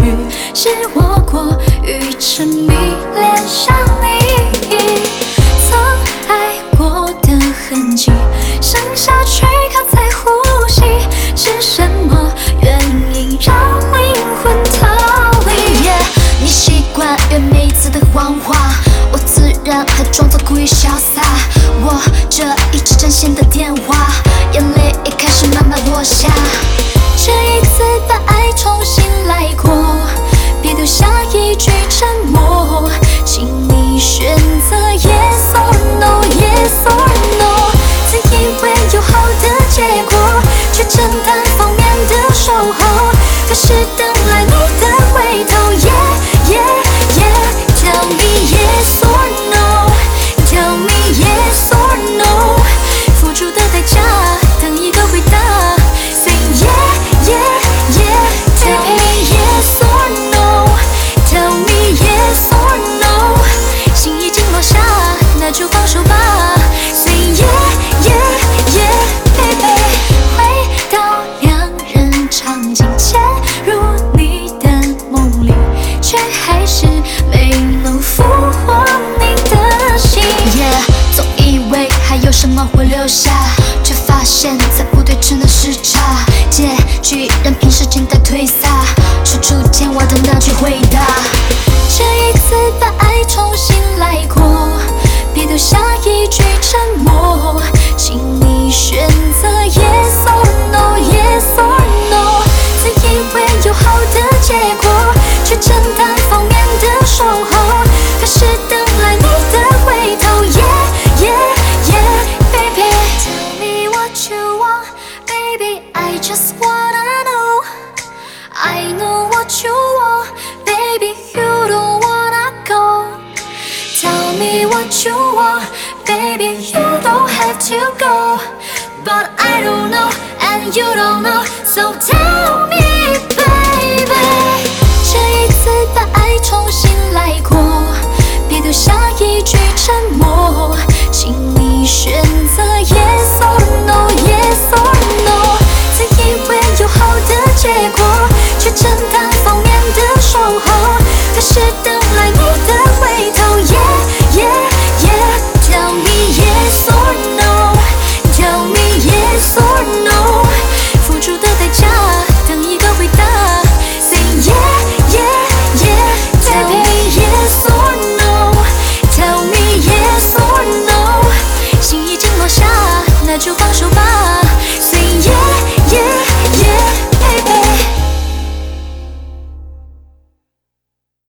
许是我过于沉迷，恋上你曾爱过的痕迹，剩下躯壳在呼吸。是什么原因让灵魂逃离？你习惯约每次的谎话，我自然还装作故意潇洒。我这一直占线的电话，眼泪也开始慢慢落下。这一次把爱重新来过，别丢下一句沉默，请你选择 yes or no yes or no。 自以为有好的结果，却真单方面的守候，可是等来你的回头 yeah yeah yeah。 Tell me yes or no Tell me yes or no， 付出的代价等一个回答 Say yeah yeah yeah。 Tell me yes or no Tell me yes or no， 心已经落下，那就放手吧 Say yeah yeah yeah baby。 回到两人场景，潜入你的梦里，却还是没能俘获你的心。总以为还有什么会留下，却发现在不对称的时差，结局任凭时间在推撒，处处见我的那句回答。这一次把爱重新来过，别丢下一句沉默，请你选择 yes or no yes or no。 自以为有好的结果，却真单方面的守候，可是等来你的回头 yeah yeah yeah baby。 Tell me what you want baby I just wanna know I know what you want baby you don't wanna go。 Tell me what you want baby you don't have to go But I don't know and you don't know So tell me baby。 这一次把爱重新来过，别丢下一句沉默，请你选择 yes or no yes or no。 自以为有好的结果，却真单方面的守候，可是等来你的回头 yeah yeah yeah。 Tell me yes or no Tell me yes or no， 付出的代价等一个回答 Say yeah yeah yeah。 Tell me yes or no Tell me yes or no， 心已经落下，那就放手